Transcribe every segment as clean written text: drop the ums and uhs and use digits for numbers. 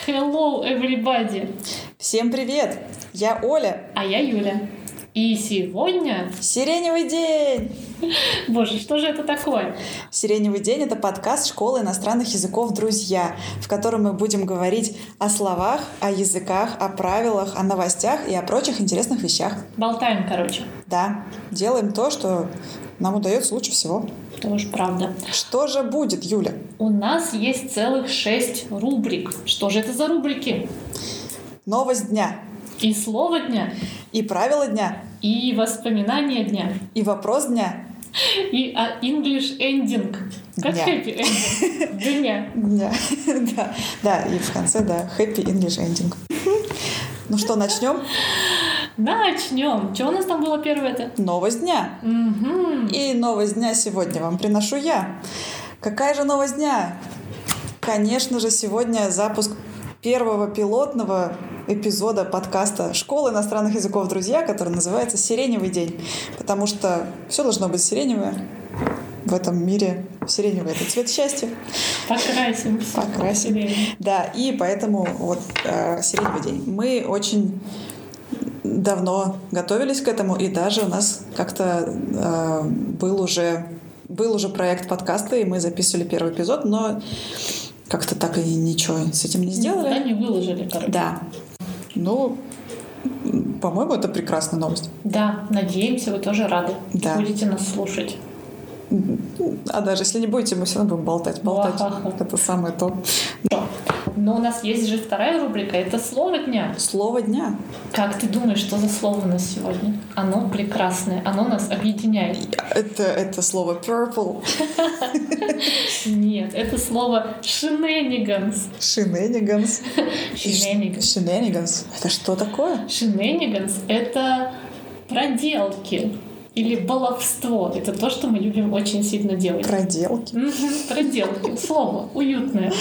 Hello, everybody! Всем привет! Я Оля. А я Юля. И сегодня... Сиреневый день! Боже, что же это такое? Сиреневый день — это подкаст школы иностранных языков «Друзья», в котором мы будем говорить о словах, о языках, о правилах, о новостях и о прочих интересных вещах. Болтаем, короче. Да, делаем то, что нам удается лучше всего. Тоже правда. Что же будет, Юля? У нас есть целых 6 рубрик. Что же это за рубрики? Новость дня. И слово дня. И правила дня. И воспоминания дня. И вопрос дня. И English ending. Как Дня. happy ending. Дня. Да. Да, и в конце, да, happy English ending. Ну что, начнем? Начнем. Что у нас там было первое-то? Новость дня. И новость дня сегодня вам приношу я. Какая же новость дня? Конечно же, сегодня запуск первого пилотного эпизода подкаста «Школы иностранных языков «Друзья», который называется «Сиреневый день». Потому что все должно быть сиреневое в этом мире. Сиреневый — это цвет счастья. Покрасимся. Покрасим. Да, и поэтому вот «Сиреневый день». Мы очень давно готовились к этому, и даже у нас как-то был уже проект подкаста, и мы записывали первый эпизод, но как-то так и ничего с этим не сделали. Да, не выложили, короче. Да. Ну, по-моему, это прекрасная новость. Да, надеемся, вы тоже рады. Да. Будете нас слушать. А даже если не будете, мы все равно будем болтать. Ха-ха. Это самое то. Но у нас есть же вторая рубрика. Это слово дня. Слово дня. Как ты думаешь, что за слово у нас сегодня? Оно прекрасное. Оно нас объединяет. Это слово purple. Нет, это слово shenanigans. Shenanigans. Shenanigans. Это что такое? Shenanigans — это проделки. Или баловство. Это то, что мы любим очень сильно делать. Проделки. Проделки. Слово уютное.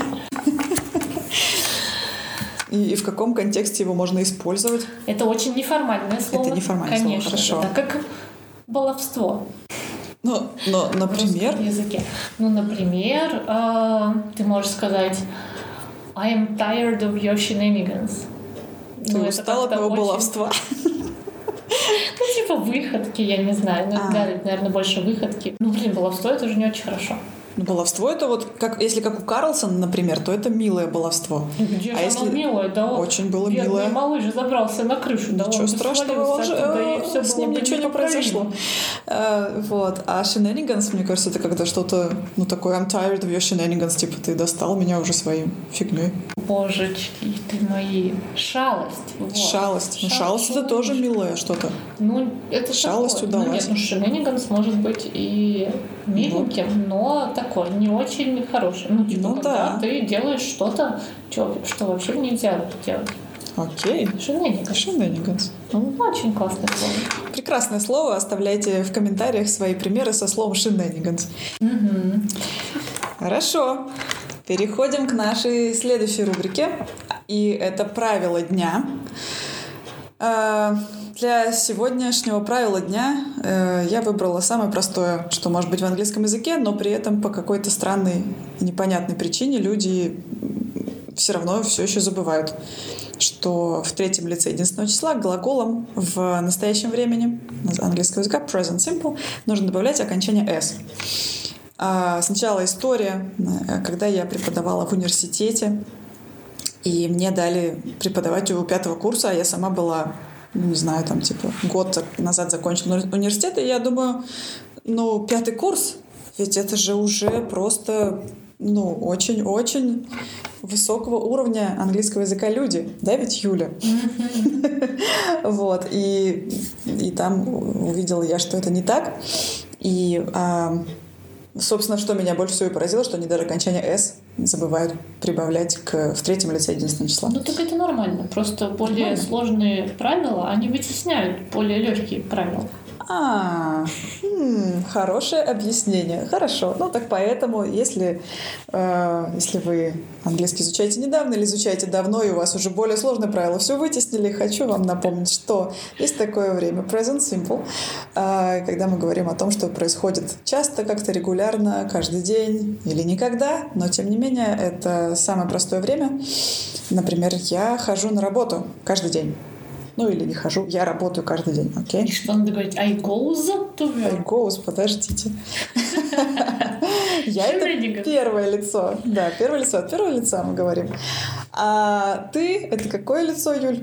И в каком контексте его можно использовать? Это очень неформальное слово. Это неформальное слово, конечно, хорошо. Это как баловство. Но, например... В русском языке. Ну, например, ты можешь сказать I am tired of your shenanigans. Ты устал от моего баловства. Ну, типа выходки, я не знаю. Ну, да, это, наверное, больше выходки. Ну, баловство — это уже не очень хорошо. Ну, баловство — это вот, если как у Карлсона, например, то это милое баловство. Где же оно милое? Да, очень было бедный милое. малыш забрался на крышу. Да, ничего страшного, с ним ничего не произошло. Вот. А shenanigans, мне кажется, это когда что-то, ну, такое I'm tired of your shenanigans, типа ты достал меня уже своей фигней. Божечки ты мои. Шалость. Вот. Шалость. Ну, шалость — это тоже милое что-то. Ну, это шалость такое. удалась. Ну, нет, shenanigans может быть и миленьким, но такой не очень хороший. Ну, типа, когда ты делаешь что-то, что вообще нельзя делать. Окей. Shenanigans. Очень классное слово. Прекрасное слово. Оставляйте в комментариях свои примеры со словом shenanigans. Хорошо. Переходим к нашей следующей рубрике. И это правило дня. Для сегодняшнего правила дня я выбрала самое простое, что может быть в английском языке, но при этом по какой-то странной и непонятной причине люди все равно все еще забывают, что в третьем лице единственного числа глаголом в настоящем времени английского языка present simple нужно добавлять окончание s. Сначала история, когда я преподавала в университете, и мне дали преподавать у 5-го курса, а я сама была, не знаю, там типа год назад закончила университет, и я думаю, 5-й курс, ведь это же уже просто, очень-очень высокого уровня английского языка люди, да, ведь Юля? Вот, и там увидела я, что это не так, и собственно, что меня больше всего поразило, что они даже окончание «s» забывают прибавлять в третьем лице единственного числа. Ну, так это нормально. Просто более сложные правила, они вытесняют более легкие правила. Хорошее объяснение. Хорошо. Ну, так поэтому, если вы английский изучаете недавно или изучаете давно, и у вас уже более сложные правила все вытеснили, хочу вам напомнить, что есть такое время, present simple, когда мы говорим о том, что происходит часто, как-то регулярно, каждый день или никогда, но, тем не менее, это самое простое время. Например, я хожу на работу каждый день. Ну, или не хожу, я работаю каждый день, окей? И что надо говорить? I goes to work. I goes, подождите. Я это первое лицо. Да, первое лицо. От первого лица мы говорим. А ты — это какое лицо, Юль?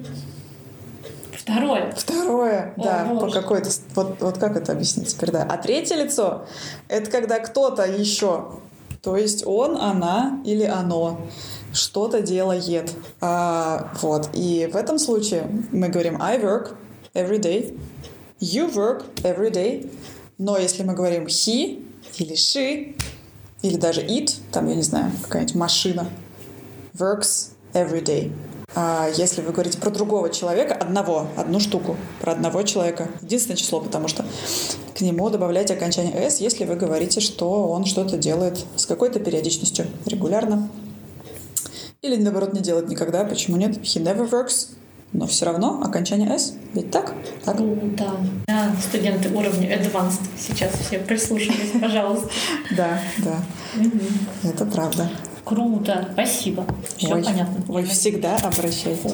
Второе, да. По какой-то... Вот как это объяснить теперь, да? А третье лицо — это когда кто-то еще, то есть он, она или оно что-то делает. Вот. И в этом случае мы говорим I work every day, you work every day. Но если мы говорим he или she, или даже it, там, я не знаю, какая-нибудь машина, works every day. А если вы говорите про другого человека, одну штуку, про одного человека, единственное число, потому что к нему добавляйте окончание s, если вы говорите, что он что-то делает с какой-то периодичностью, регулярно. Или, наоборот, не делать никогда. Почему нет? He never works. Но все равно окончание S. Ведь так? Так? Да. Студенты уровня Advanced сейчас все прислушались, пожалуйста. Да. Это правда. Круто. Спасибо. Все понятно. Вы всегда обращайтесь.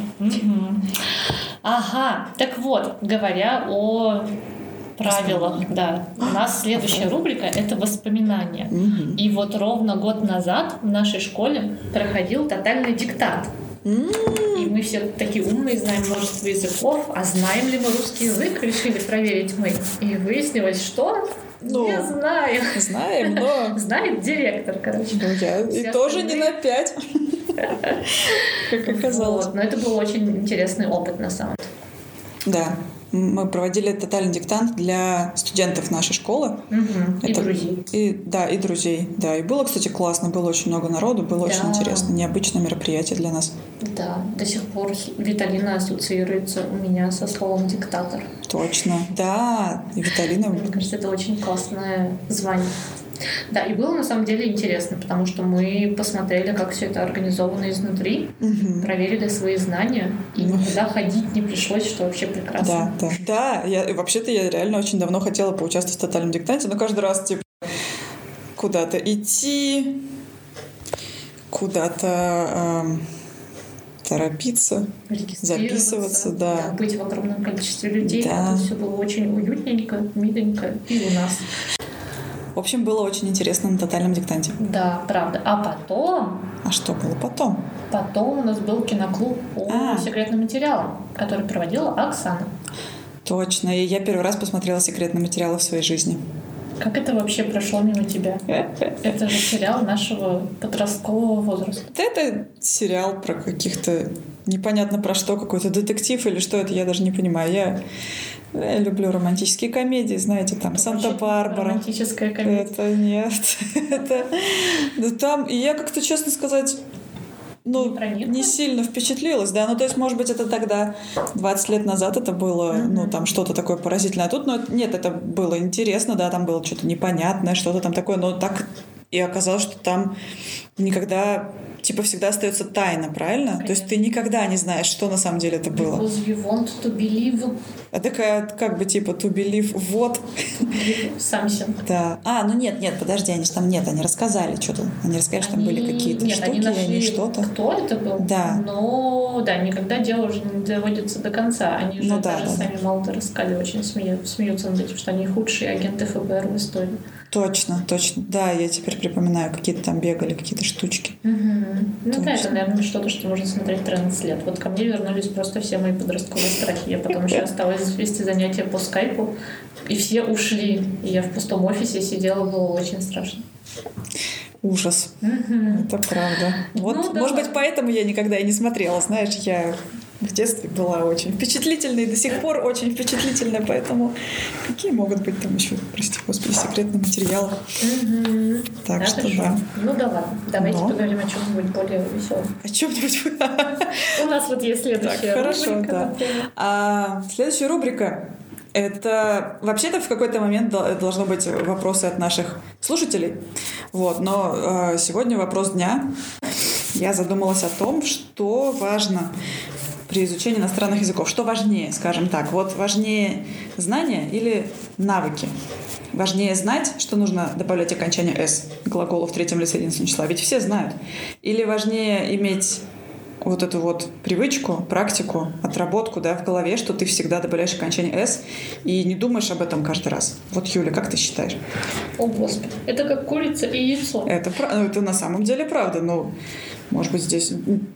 Ага. Так вот, говоря о правилах, да. У нас следующая рубрика — это воспоминания. И вот ровно год назад в нашей школе проходил тотальный диктант. И мы все такие умные, знаем множество языков, а знаем ли мы русский язык, решили проверить мы. И выяснилось, что не знаем. Знаем, но... Знает директор, короче. Ну, я и тоже не на 5, как оказалось. Но это был очень интересный опыт, на самом деле. Да. Мы проводили тотальный диктант для студентов нашей школы. И друзей. И друзей. Да, и было, кстати, классно. Было очень много народу, было очень интересно. Необычное мероприятие для нас. Да, до сих пор Виталина ассоциируется у меня со словом «диктатор». Точно. Да, и Виталина... Мне кажется, это очень классное звание. Да, и было на самом деле интересно, потому что мы посмотрели, как все это организовано изнутри, проверили свои знания, и никуда ходить не пришлось, что вообще прекрасно. Да, вообще-то я реально очень давно хотела поучаствовать в тотальном диктанте, но каждый раз типа куда-то идти, куда-то торопиться, записываться, да. Быть в огромном количестве людей, это все было очень уютненько, миленько и у нас. В общем, было очень интересно на тотальном диктанте. Да, правда. А потом... А что было потом? Потом у нас был киноклуб по секретным материалам, который проводила Оксана. Точно. И я первый раз посмотрела секретные материалы в своей жизни. Как это вообще прошло мимо тебя? Это же сериал нашего подросткового возраста. Это сериал про каких-то... Непонятно про что, какой-то детектив или что это, я даже не понимаю. Я люблю романтические комедии, знаете, там «Санта-Барбара». Романтическая комедия. Это нет. Это там... И я как-то, честно сказать, не сильно впечатлилась, да. То есть, может быть, это тогда, 20 лет назад это было, там что-то такое поразительное. А тут, нет, это было интересно, да, там было что-то непонятное, что-то там такое, но так и оказалось, что там никогда... Типа всегда остается тайна, правильно? Конечно. То есть ты никогда не знаешь, что на самом деле это было. Because you want to believe. А такая, как бы, типа, to believe what? Something. Да. Нет, подожди, они рассказали что-то. Они рассказали, что там были какие-то штуки, они нашли что-то. Кто это был? Да. Но, никогда дело уже не доводится до конца. Они же даже сами молодо рассказали, очень смеются над этим, что они худшие агенты ФБР в истории. Точно. Да, я теперь припоминаю, какие-то там бегали, какие-то штучки. Это, наверное, что-то, что можно смотреть 13 лет. Вот ко мне вернулись просто все мои подростковые страхи. Я потом еще осталась вести занятия по скайпу, и все ушли. И я в пустом офисе сидела, было очень страшно. Ужас. Это правда. Вот, может быть, поэтому я никогда и не смотрела. Знаешь, я в детстве была очень впечатлительной, и до сих пор очень впечатлительная, поэтому какие могут быть там еще, прости господи, секретные материалы. Так что да. Ну да ладно, давайте поговорим о чем-нибудь более веселом. О чем-нибудь? У нас вот есть следующая рубрика. Хорошо, да. Следующая рубрика — Это вообще-то в какой-то момент должны быть вопросы от наших слушателей. Вот. Но сегодня вопрос дня. Я задумалась о том, что важно при изучении иностранных языков. Что важнее, скажем так? Вот важнее знания или навыки? Важнее знать, что нужно добавлять окончание «с» к глаголу в третьем лице единственного числа. Ведь все знают. Или важнее иметь вот эту вот привычку, практику, отработку, да, в голове, что ты всегда добавляешь окончание «с» и не думаешь об этом каждый раз. Вот, Юля, как ты считаешь? О, Господи. Это как курица и яйцо. Это на самом деле правда, но может быть, здесь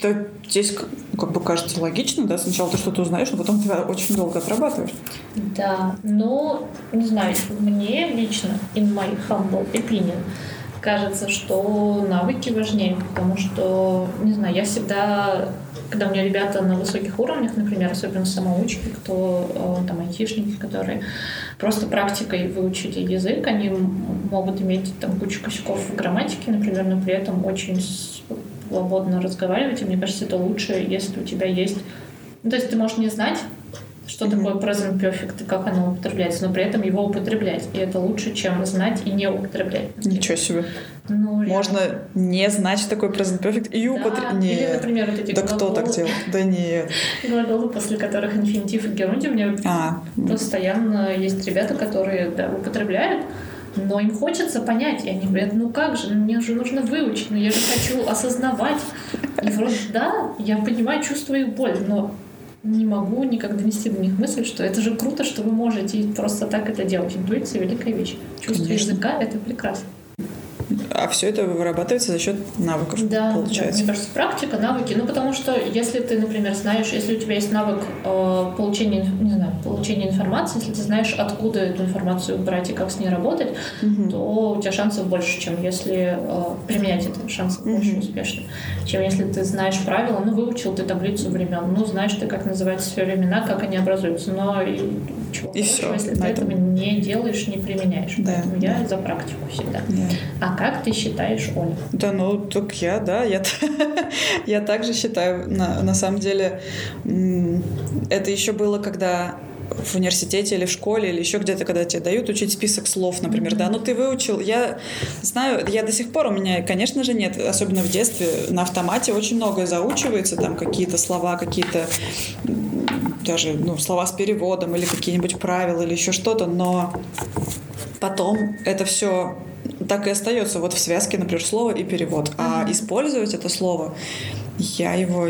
как бы кажется логично, да, сначала ты что-то узнаешь, но потом ты очень долго отрабатываешь. Да, но, не знаю, мне лично, in my humble opinion, кажется, что навыки важнее, потому что, не знаю, я всегда, когда у меня ребята на высоких уровнях, например, особенно самоучки, кто там айтишники, которые просто практикой выучили язык, они могут иметь там кучу косяков в грамматике, например, но при этом очень свободно разговаривать, и мне кажется, это лучше, если у тебя есть... Ну, то есть ты можешь не знать, что такое present perfect и как оно употребляется, но при этом его употреблять. И это лучше, чем знать и не употреблять. Ничего себе. Ну, можно не знать, что такое present perfect и употреблять. Или, например, вот эти да глаголы. Кто так делает? Да нет. Глаголы, после которых инфинитив и герундий. У меня постоянно есть ребята, которые употребляют, но им хочется понять. И они говорят, ну как же, мне же нужно выучить, но я же хочу осознавать. И вроде да, я понимаю, чувствую их боль, но не могу никак донести до них мысль, что это же круто, что вы можете просто так это делать. Интуиция — великая вещь. Чувство языка — это прекрасно. А все это вырабатывается за счет навыков, получается. Да, мне кажется, практика, навыки. Ну, потому что если ты, например, знаешь, если у тебя есть навык получения информации, если ты знаешь, откуда эту информацию брать и как с ней работать, то у тебя шансов больше, чем если применять это, шансов больше успешно. Чем если ты знаешь правила, выучил ты таблицу времен, знаешь ты, как называются все времена, как они образуются, но все, если ты этого не делаешь, не применяешь. Да, поэтому я за практику всегда. Да. А как ты считаешь, Оля? Да, так я также считаю. На самом деле, это еще было, когда в университете или в школе, или еще где-то, когда тебе дают учить список слов, например, да, ты выучил. Я знаю, я до сих пор, у меня, конечно же, нет, особенно в детстве, на автомате очень многое заучивается, там какие-то слова, какие-то даже слова с переводом или какие-нибудь правила или еще что-то, но потом это все так и остается вот в связке, например, слово и перевод. А использовать это слово, я его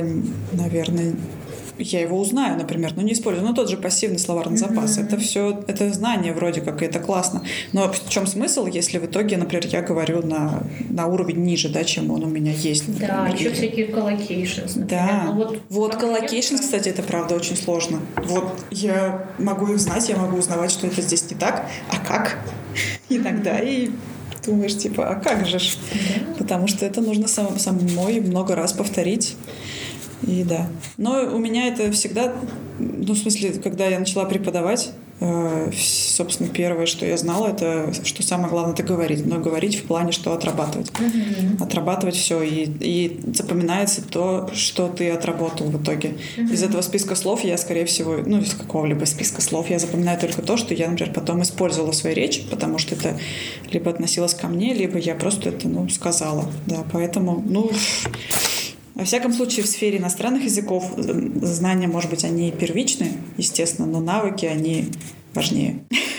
узнаю, например, но не использую. Тот же пассивный словарный запас. Это все, это знание вроде как, и это классно. Но в чем смысл, если в итоге, например, я говорю на уровень ниже, да, чем он у меня есть. Например, да, еще всякие collocations, например. Да, вот collocations, кстати, это правда очень сложно. Вот я могу их знать, я могу узнавать, что это здесь не так, а как иногда, и думаешь, а как же ж? Потому что это нужно самой много раз повторить. И да. Но у меня это всегда, в смысле, когда я начала преподавать, собственно, первое, что я знала, это что самое главное — это говорить. Но говорить в плане, что отрабатывать. Отрабатывать все. И запоминается то, что ты отработал в итоге. Из этого списка слов я, скорее всего, из какого-либо списка слов я запоминаю только то, что я, например, потом использовала в своей речи, потому что это либо относилось ко мне, либо я просто это, сказала. Да, поэтому, во всяком случае, в сфере иностранных языков знания, может быть, они первичны, естественно, но навыки, они важнее.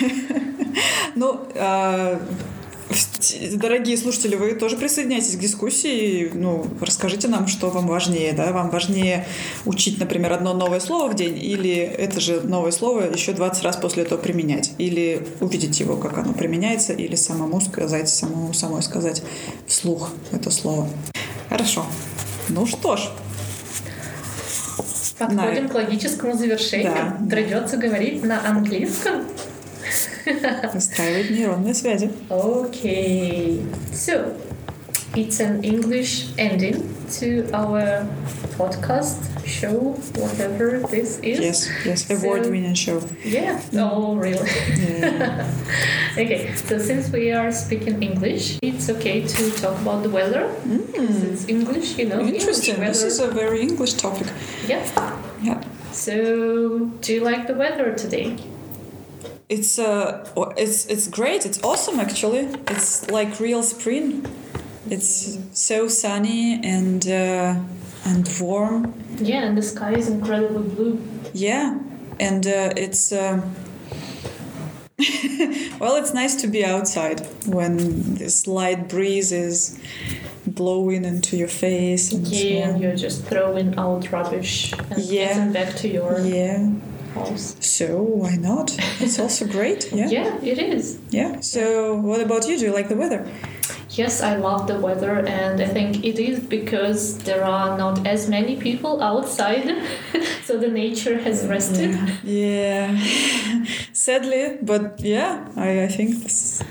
Дорогие слушатели, вы тоже присоединяйтесь к дискуссии. Расскажите нам, что вам важнее. Да? Вам важнее учить, например, одно новое слово в день, или это же новое слово еще 20 раз после этого применять, или увидеть его, как оно применяется, или самой сказать вслух это слово. Хорошо. Что ж. Подходим к логическому завершению. Да. Придется говорить на английском. Выстраивать нейронные связи. Okay. So, it's an English ending to our podcast show, whatever this is. Yes, award-winning show. Yeah. Oh, really? Yeah. Okay, so since we are speaking English, it's okay to talk about the weather. Because it's English, Interesting. This is a very English topic. Yeah. Yeah. So, do you like the weather today? it's great. It's awesome, actually. It's like real spring. It's so sunny and warm. Yeah, and the sky is incredibly blue. Yeah, and it's well, it's nice to be outside when this light breeze is blowing into your face. And and you're just throwing out rubbish and getting back to your house. So why not? It's also great. Yeah. Yeah, it is. Yeah. So what about you? Do you like the weather? Yes, I love the weather, and I think it is because there are not as many people outside, so the nature has rested. Yeah. Sadly, but yeah, I think this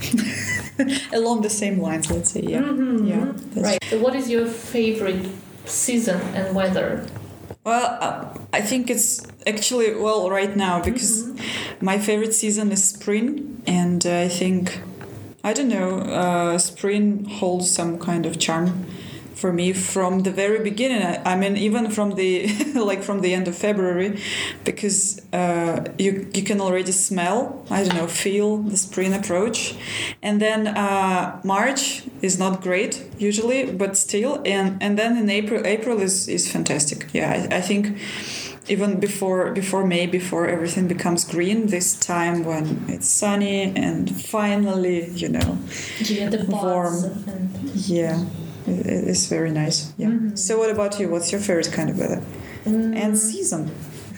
along the same lines, let's say. Yeah. Yeah. Right. So what is your favorite season and weather? Well, I think it's actually, well, right now, because my favorite season is spring, and I think, I don't know, spring holds some kind of charm for me from the very beginning. I mean, even from the like from the end of February, because you can already smell, I don't know, feel the spring approach, and then March is not great usually, but still, and then in April is fantastic. Yeah, I think. Even before May, before everything becomes green, this time when it's sunny and finally, the warm. Yeah, it's very nice. Yeah. So what about you? What's your favorite kind of weather and season?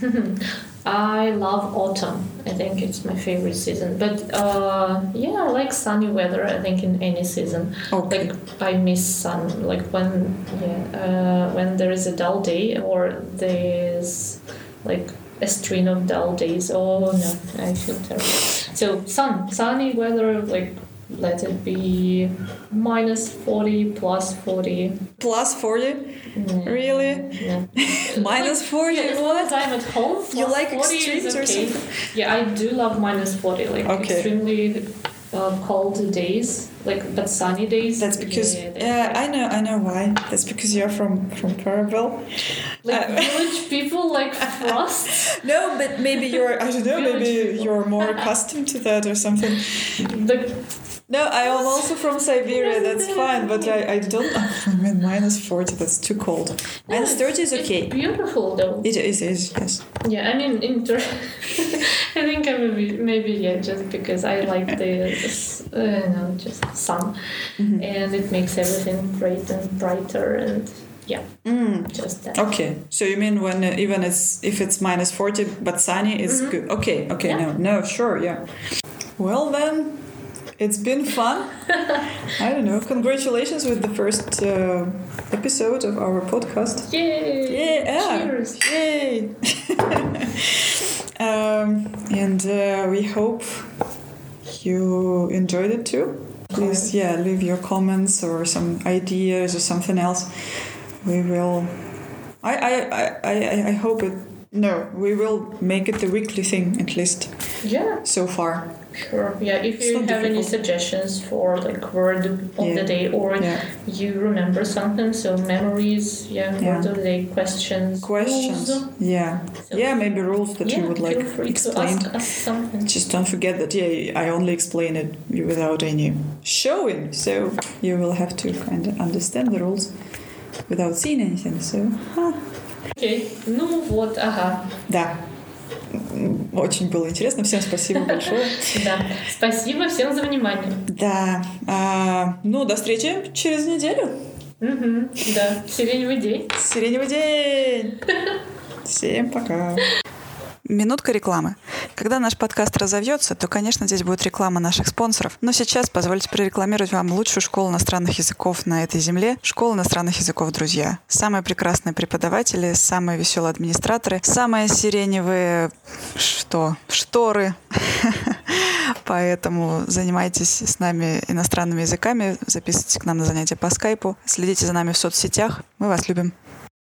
I love autumn. I think it's my favorite season. But I like sunny weather. I think in any season. Okay. Like I miss sun. Like when there is a dull day or there's like a string of dull days. Oh no, I feel terrible. So sunny weather. Like let it be -40, +40. +40? Really? Yeah. -40? Yeah, as long as I'm at home, you like 40 extremes is or okay. something? Yeah, I do love -40, like extremely cold days, like but sunny days. That's because I know why. That's because you're from Paravel. Like village people like frost. No, but maybe you're more accustomed to that or something. No, I am also from Siberia, that's fine, but I don't... I mean, -40, that's too cold. -30 is okay. It's beautiful, though. It is, yes. Yeah, I mean, I think maybe just because I like just sun. And it makes everything great and brighter and... Yeah, just that. Okay, so you mean when if it's -40 but sunny, it's good. Okay, yeah. No, sure, yeah. Well then... It's been fun. I don't know. Congratulations with the first episode of our podcast. Yay! Yeah! Cheers! Yay! And we hope you enjoyed it too. Please, leave your comments or some ideas or something else. We will. I hope it. No, we will make it the weekly thing at least. Yeah. So far. Sure. Yeah. If you have any suggestions for like word of the day, or you remember something, so memories, word of the day, questions. Rules. Yeah. So, maybe rules that you would like explained. To ask us something. Just don't forget that I only explain it without any showing, so you will have to kind of understand the rules without seeing anything. So. Окей. Ну вот, ага. Да. Очень было интересно. Всем спасибо большое. Да. Спасибо всем за внимание. Да. До встречи через неделю. Да. Сиреневый день. Сиреневый день. Всем пока. Минутка рекламы. Когда наш подкаст разовьется, то, конечно, здесь будет реклама наших спонсоров. Но сейчас позвольте прорекламировать вам лучшую школу иностранных языков на этой земле — школа иностранных языков «Друзья». Самые прекрасные преподаватели, самые веселые администраторы, самые сиреневые... шторы. Поэтому занимайтесь с нами иностранными языками, записывайтесь к нам на занятия по скайпу, следите за нами в соцсетях. Мы вас любим.